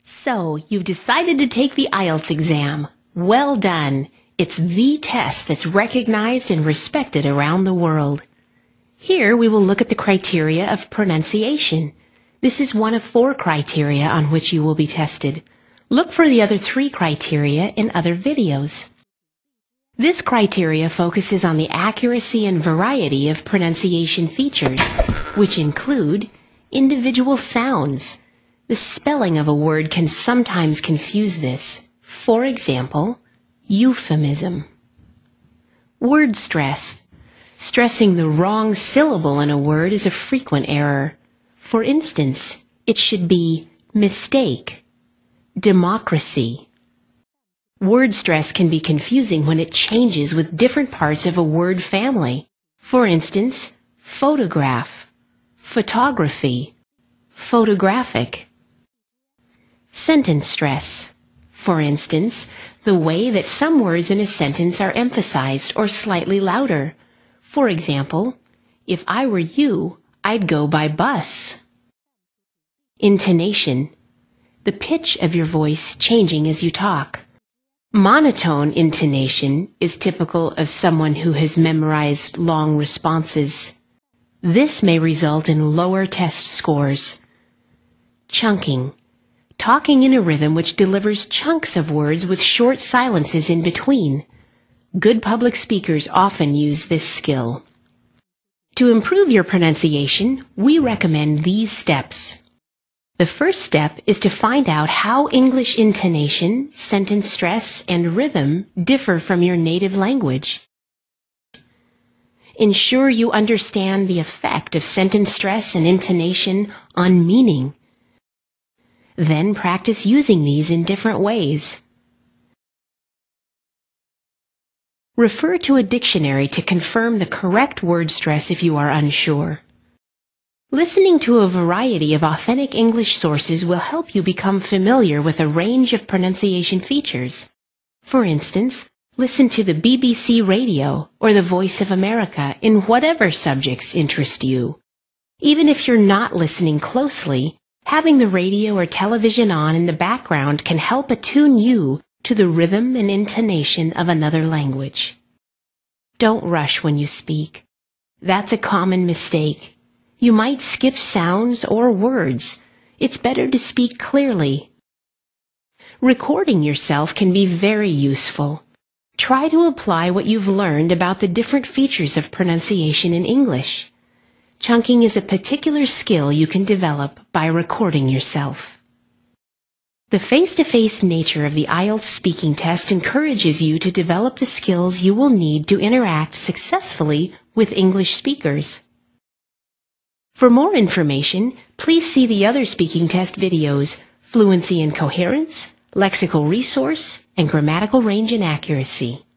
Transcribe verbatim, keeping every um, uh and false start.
So, you've decided to take the I E L T S exam. Well done. It's the test that's recognized and respected around the world. Here we will look at the criteria of pronunciation. This is one of four criteria on which you will be tested. Look for the other three criteria in other videos. This criteria focuses on the accuracy and variety of pronunciation features, which include individual sounds. The spelling of a word can sometimes confuse this. For example, euphemism. Word stress. Stressing the wrong syllable in a word is a frequent error. For instance, it should be mistake, democracy. Word stress can be confusing when it changes with different parts of a word family. For instance, photograph, photography, photographic. Sentence stress. For instance, the way that some words in a sentence are emphasized or slightly louder. For example, if I were you, I'd go by bus. Intonation. The pitch of your voice changing as you talk. Monotone intonation is typical of someone who has memorized long responses. This may result in lower test scores. Chunking. Talking in a rhythm which delivers chunks of words with short silences in between. Good public speakers often use this skill. To improve your pronunciation, we recommend these steps. The first step is to find out how English intonation, sentence stress, and rhythm differ from your native language. Ensure you understand the effect of sentence stress and intonation on meaning. Then practice using these in different ways. Refer to a dictionary to confirm the correct word stress if you are unsure. Listening to a variety of authentic English sources will help you become familiar with a range of pronunciation features. For instance, listen to the B B C Radio or the Voice of America in whatever subjects interest you. Even if you're not listening closely, having the radio or television on in the background can help attune you to the rhythm and intonation of another language. Don't rush when you speak. That's a common mistake. You might skip sounds or words. It's better to speak clearly. Recording yourself can be very useful. Try to apply what you've learned about the different features of pronunciation in English. Chunking is a particular skill you can develop by recording yourself. The face-to-face nature of the I E L T S speaking test encourages you to develop the skills you will need to interact successfully with English speakers. For more information, please see the other speaking test videos, Fluency and Coherence, Lexical Resource, and Grammatical Range and Accuracy.